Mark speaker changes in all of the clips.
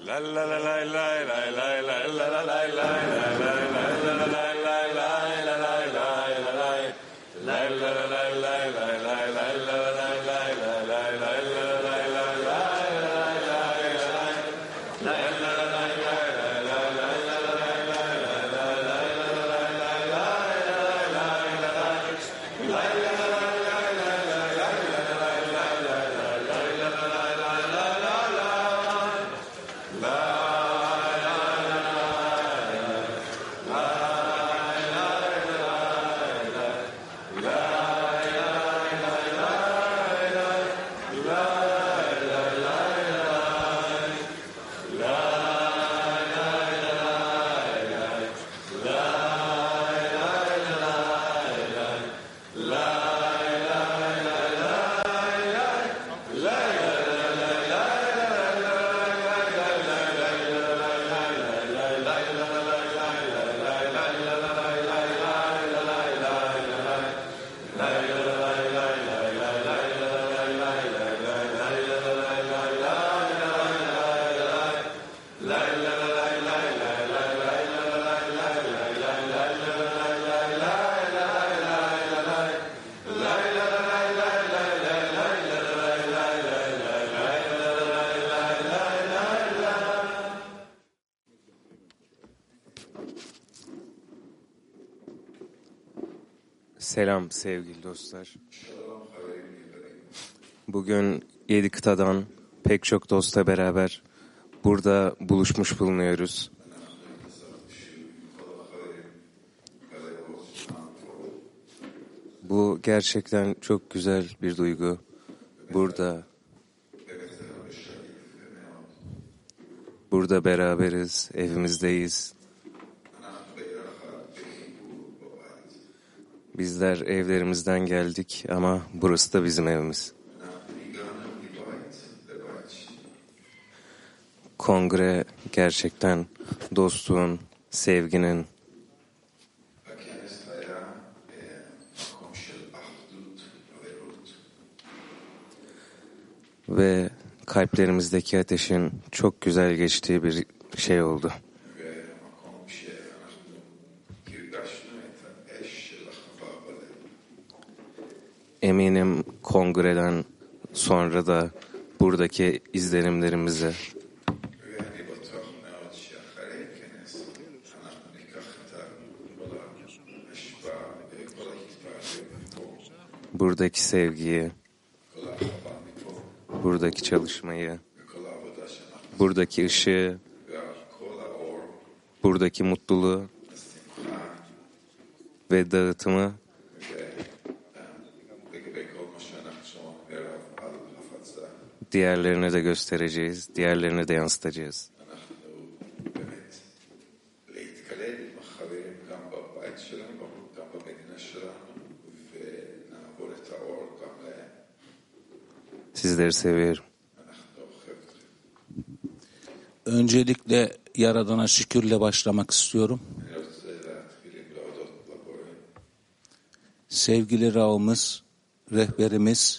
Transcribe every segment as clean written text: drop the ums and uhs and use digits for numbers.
Speaker 1: Selam sevgili dostlar. Bugün 7 kıtadan pek çok dostla beraber burada buluşmuş bulunuyoruz. Bu gerçekten çok güzel bir duygu. Burada beraberiz, evimizdeyiz. Bizler evlerimizden geldik ama burası da bizim evimiz. Kongre gerçekten dostluğun, sevginin ve kalplerimizdeki ateşin çok güzel geçtiği bir şey oldu. Eminim kongreden sonra da buradaki izlenimlerimizi buradaki sevgiyi, buradaki çalışmayı, buradaki ışığı, buradaki mutluluğu ve dağıtımı diğerlerine de göstereceğiz, diğerlerine de yansıtacağız. Sizleri seviyorum.
Speaker 2: Öncelikle Yaradan'a şükürle başlamak istiyorum. Sevgili Rav'ımız, rehberimiz,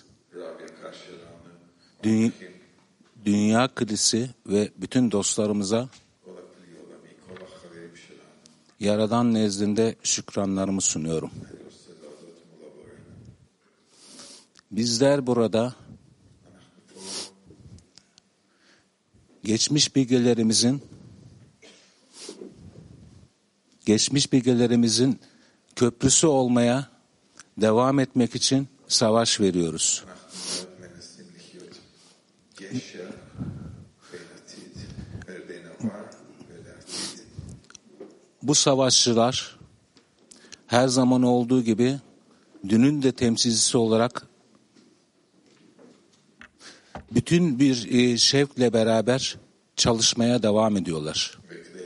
Speaker 2: Dünya Kilisi ve bütün dostlarımıza Yaradan nezdinde şükranlarımı sunuyorum. Bizler burada geçmiş bilgelerimizin köprüsü olmaya devam etmek için savaş veriyoruz. Bu savaşçılar her zaman olduğu gibi dünün de temsilcisi olarak bütün bir şevkle beraber çalışmaya devam ediyorlar.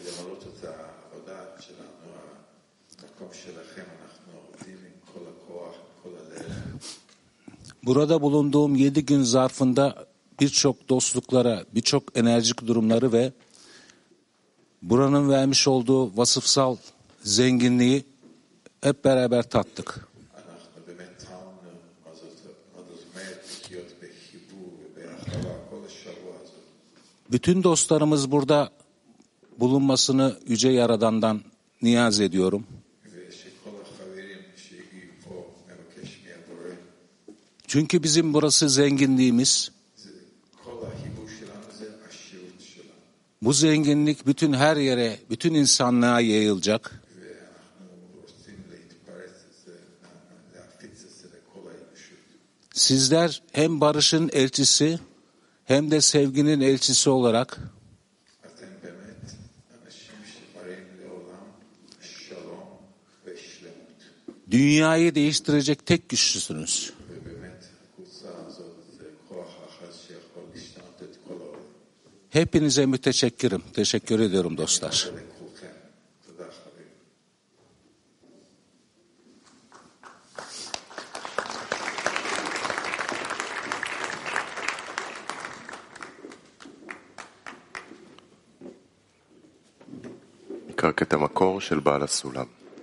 Speaker 2: Burada bulunduğum 7 gün zarfında birçok dostluklara, birçok enerjik durumları ve buranın vermiş olduğu vasıfsal zenginliği hep beraber tattık. Bütün dostlarımız burada bulunmasını Yüce Yaradan'dan niyaz ediyorum. Çünkü bizim burası zenginliğimiz. Bu zenginlik bütün her yere, bütün insanlığa yayılacak. Sizler hem barışın elçisi hem de sevginin elçisi olarak dünyayı değiştirecek tek güçlüsünüz. Hepinize müteşekkirim. Teşekkür ediyorum dostlar.
Speaker 3: קרקע המקור של בעל הסולם.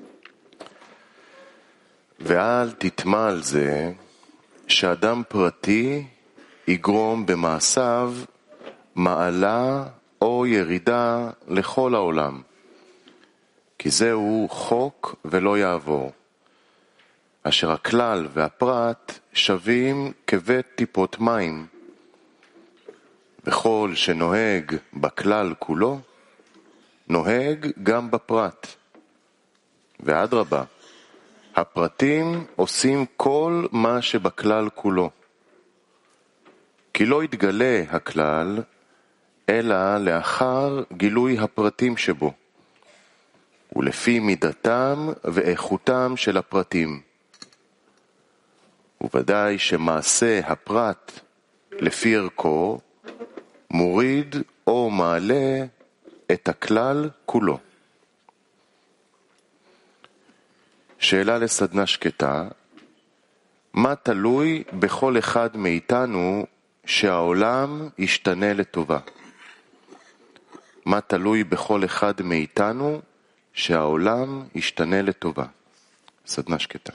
Speaker 3: ואל תטמע על זה שאדם פרטי יגרום במעשיו מעלה או ירידה לכל העולם, כי זהו חוק ולא יעבור, אשר הכלל והפרט שווים כבית טיפות מים, וכל שנוהג בכלל כולו נוהג גם בפרט, ואדרבה, הפרטים עושים כל מה שבכלל כולו, כי לא יתגלה הכלל אלא לאחר גילוי הפרטים שבו, ולפי מידתם ואיכותם של הפרטים. וודאי שמעשה הפרט לפי ערכו מוריד או מעלה את הכלל כולו. שאלה לסדנה שקטה, מה תלוי בכל אחד מאיתנו שהעולם ישתנה לטובה? מה תלוי בכל אחד מאיתנו שהעולם ישתנה לטובה? סדנה שקטה.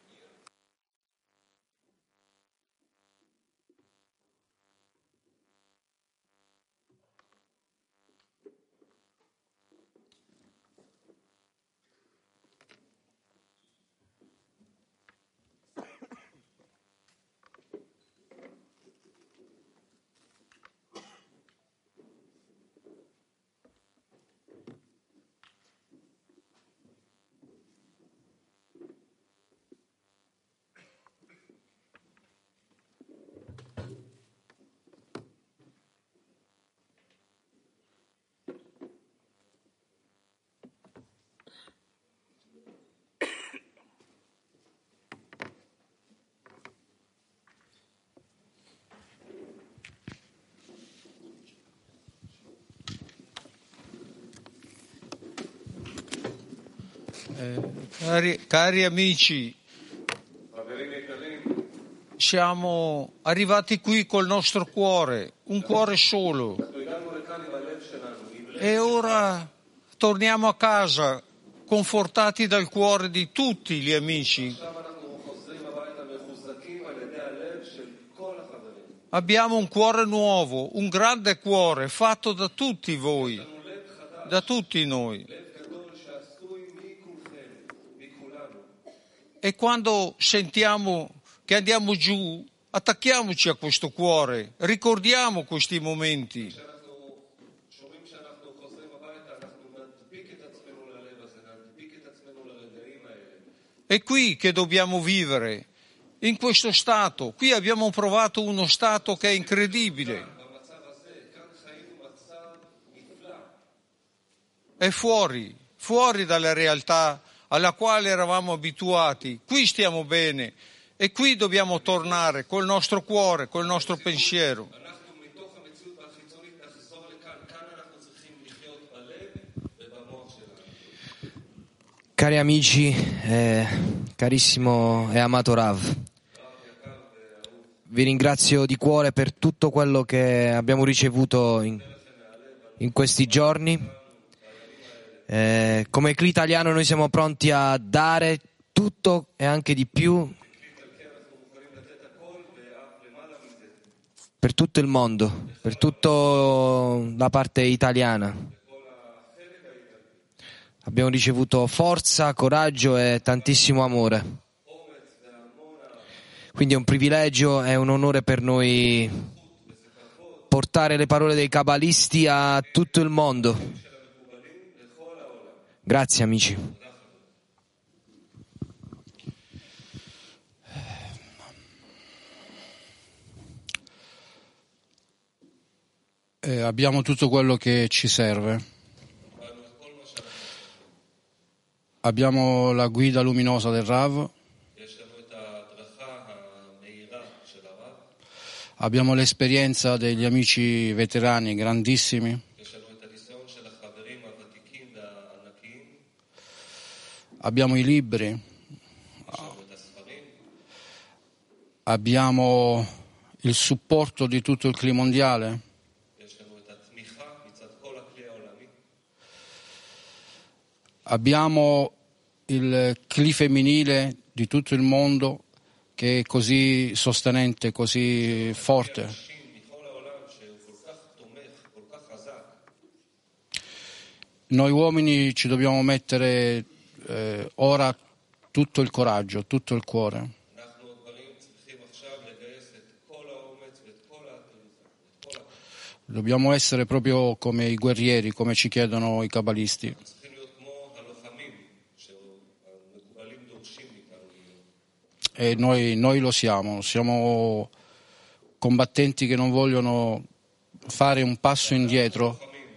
Speaker 4: Cari amici, siamo arrivati qui col nostro cuore, un cuore solo, e ora torniamo a casa confortati dal cuore di tutti gli amici. Abbiamo un cuore nuovo, un grande cuore fatto da tutti voi, da tutti noi. E quando sentiamo che andiamo giù, attacchiamoci a questo cuore, ricordiamo questi momenti. È qui che dobbiamo vivere, in questo stato. Qui abbiamo provato uno stato che è incredibile. È fuori dalla realtà alla quale eravamo abituati. Qui stiamo bene e qui dobbiamo tornare col nostro cuore, col nostro pensiero.
Speaker 5: Cari amici, carissimo e amato Rav, vi ringrazio di cuore per tutto quello che abbiamo ricevuto in questi giorni. Come CLI italiano noi siamo pronti a dare tutto e anche di più per tutto il mondo, per tutta la parte italiana. Abbiamo ricevuto forza, coraggio e tantissimo amore. Quindi è un privilegio, è un onore per noi portare le parole dei cabalisti a tutto il mondo. Grazie amici.
Speaker 6: Abbiamo tutto quello che ci serve. Abbiamo la guida luminosa del Rav. Abbiamo l'esperienza degli amici veterani grandissimi. Abbiamo i libri. Abbiamo il supporto di tutto il CLI mondiale. Abbiamo il CLI femminile di tutto il mondo che è così sostenente, così forte. Noi uomini ci dobbiamo mettere ora tutto il coraggio, tutto il cuore. Dobbiamo essere proprio come i guerrieri, come ci chiedono i cabalisti. E noi lo siamo combattenti che non vogliono fare un passo indietro.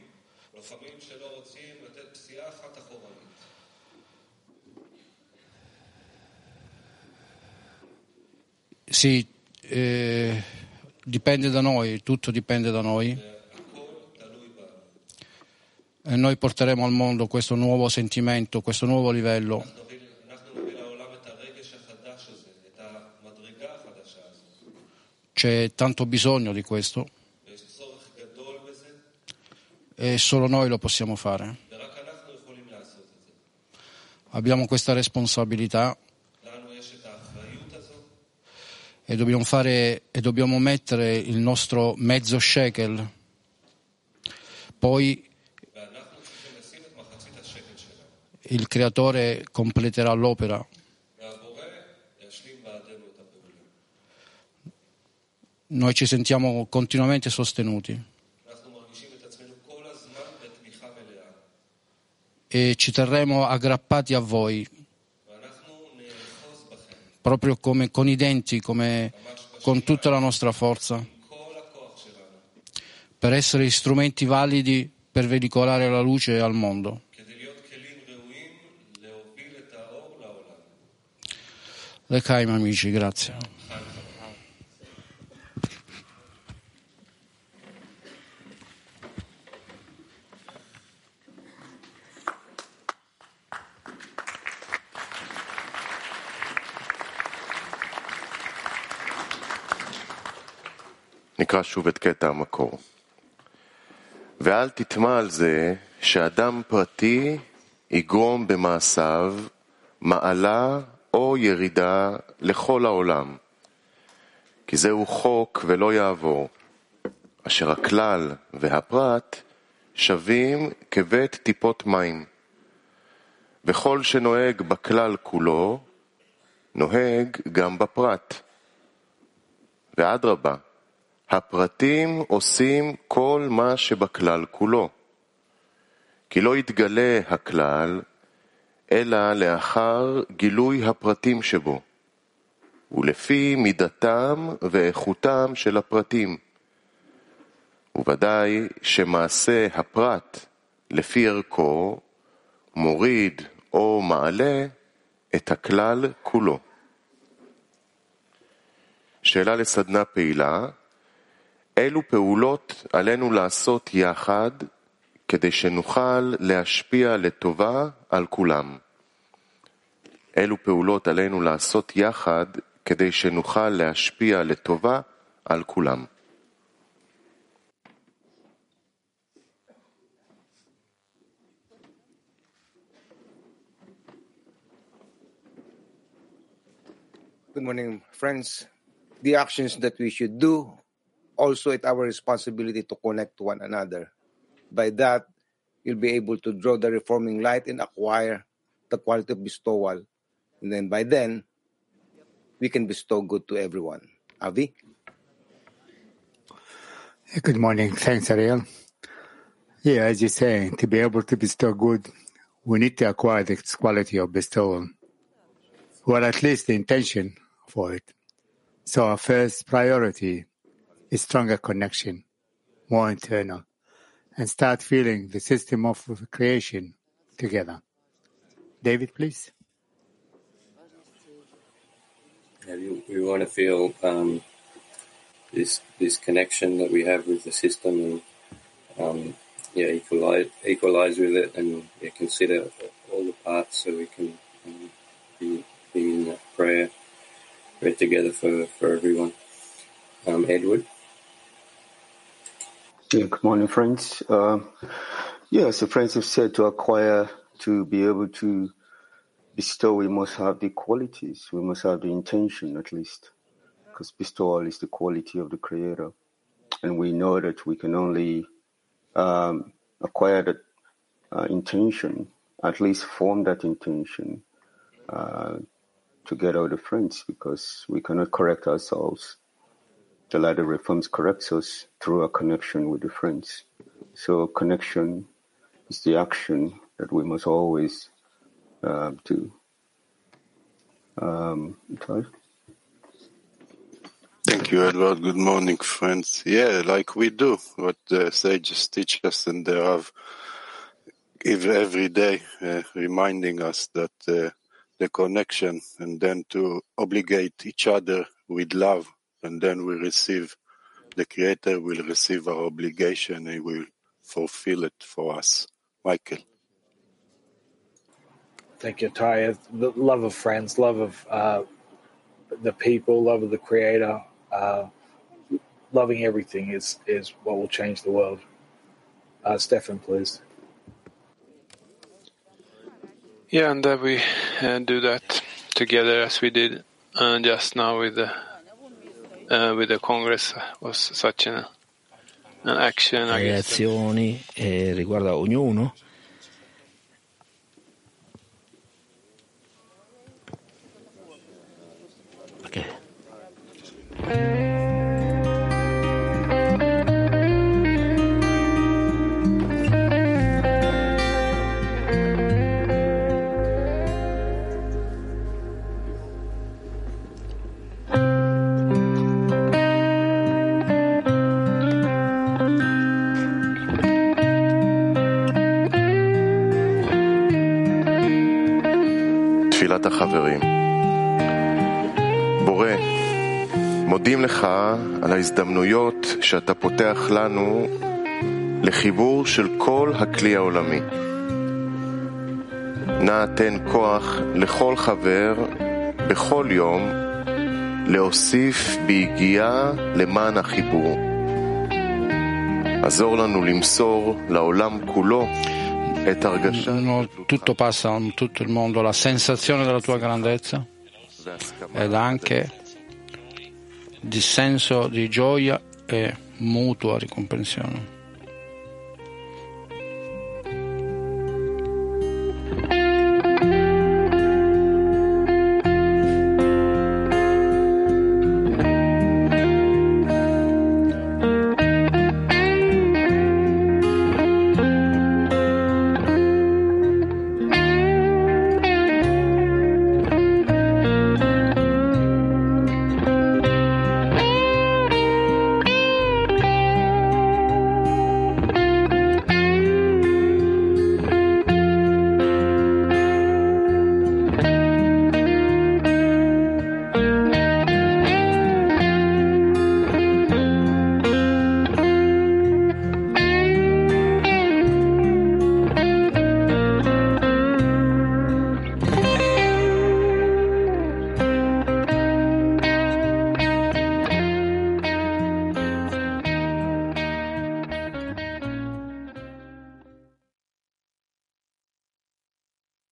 Speaker 6: Sì, dipende da noi, tutto dipende da noi. E noi porteremo al mondo questo nuovo sentimento, questo nuovo livello. C'è tanto bisogno di questo e solo noi lo possiamo fare. Abbiamo questa responsabilità e dobbiamo mettere il nostro mezzo shekel. Poi il Creatore completerà l'opera. Noi ci sentiamo continuamente sostenuti e ci terremo aggrappati a voi, proprio come con i denti, come con tutta la nostra forza, per essere strumenti validi per veicolare la luce al mondo. L'Echaim, amici, grazie.
Speaker 3: נקרא שוב את קטע המקור. ואל תטמע על זה שאדם פרטי יגרום במעשיו מעלה או ירידה לכל העולם. כי זהו חוק ולא יעבור, אשר הכלל והפרט שווים כבית טיפות מים. וכל שנוהג בכלל כולו, נוהג גם בפרט. ואדרבה, הפרטים עושים כל מה שבכלל כולו. כי לא יתגלה הכלל, אלא לאחר גילוי הפרטים שבו, ולפי מידתם ואיכותם של הפרטים. וודאי שמעשה הפרט לפי ערכו מוריד או מעלה את הכלל כולו. שאלה לסדנה פעילה, אילו פעולות עלינו לעשות יחד כדי שנוכל להשפיע לטובה על כולם? אילו פעולות עלינו לעשות יחד כדי שנוכל להשפיע לטובה על כולם?
Speaker 7: Good morning, friends. The actions that we should do also it's our responsibility to connect to one another. By that, you'll be able to draw the reforming light and acquire the quality of bestowal. And then by then, we can bestow good to everyone. Avi?
Speaker 8: Good morning. Thanks, Ariel. Yeah, as you say, to be able to bestow good, we need to acquire this quality of bestowal, or at least the intention for it. So our first priority is stronger connection, more internal, and start feeling the system of creation together. David, please.
Speaker 9: Yeah, we want to feel this connection that we have with the system, and equalize with it, and consider all the parts, so we can be in that prayer together for everyone. Edward.
Speaker 10: Yeah, good morning, friends. As the friends have said, to be able to bestow, we must have the qualities. We must have the intention, at least, because bestowal is the quality of the Creator, and we know that we can only acquire that intention, at least form that intention together with the friends, because we cannot correct ourselves. The light of reforms corrects us through a connection with the friends. So connection is the action that we must always do.
Speaker 11: Thank you, Edward. Good morning, friends. Yeah, like we do what the sages teach us, and they have every day reminding us that the connection, and then to obligate each other with love, and then we receive, the Creator will receive our obligation, and He will fulfill it for us. Michael.
Speaker 12: Thank you, Taya. The love of friends, love of the people, love of the Creator, loving everything is what will change the world. Stefan, please.
Speaker 13: Yeah, and that we do that together as we did just now with the Congress was such an action.
Speaker 14: Reazioni riguarda ognuno. Okay.
Speaker 3: תפילת החברים. בורא, מודים לך על ההזדמנויות שאתה פותח לנו לחיבור של כל הכלי העולמי. נא תן כוח לכל חבר בכל יום להוסיף ביגיעה למען החיבור. עזור לנו למסור לעולם כולו את הרגשה.
Speaker 6: Tutto passa in tutto il mondo, la sensazione della tua grandezza ed anche di senso di gioia e mutua ricomprensione.